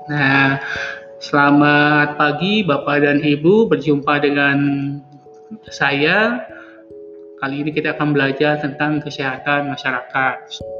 Nah, selamat pagi Bapak dan Ibu, berjumpa dengan saya. Kali ini kita akan belajar tentang kesehatan masyarakat.